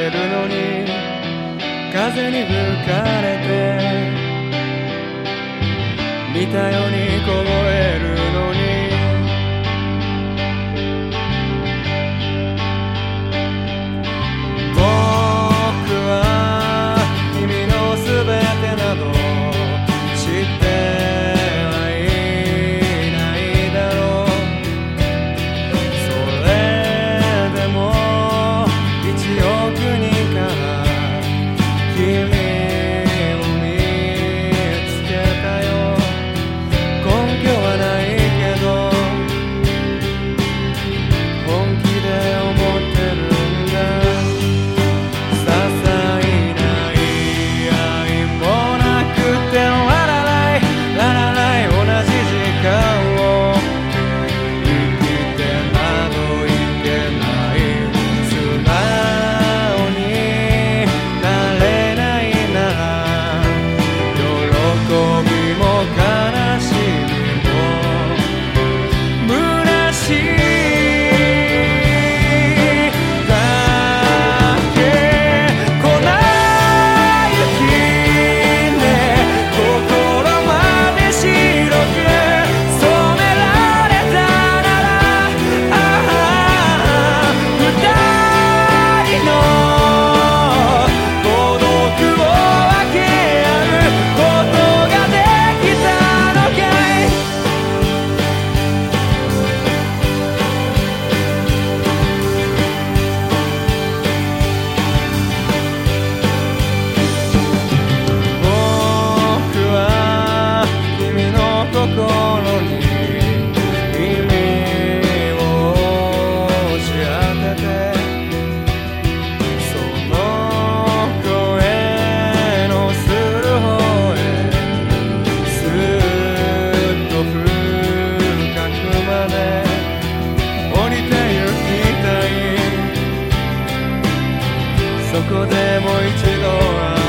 てるのに風に吹かれて似たように凍えるのに僕は君のすべてなど知ってはいないだろう。それでも1億人から君を見つけたよ。根拠はないけど本気で思ってるんだ。些細な言い合いもなくてララライララライ同じ時間を生きてなどいけない。素直になれないなら喜びも悲しみも虚しいだけ。粉雪ね心まで白く染められたなら二人の孤独を分け合うことができたのかい。僕は君の心に意味を押し当ててその声のする方へすっと深くまで降りてゆきたい。そこでもう一度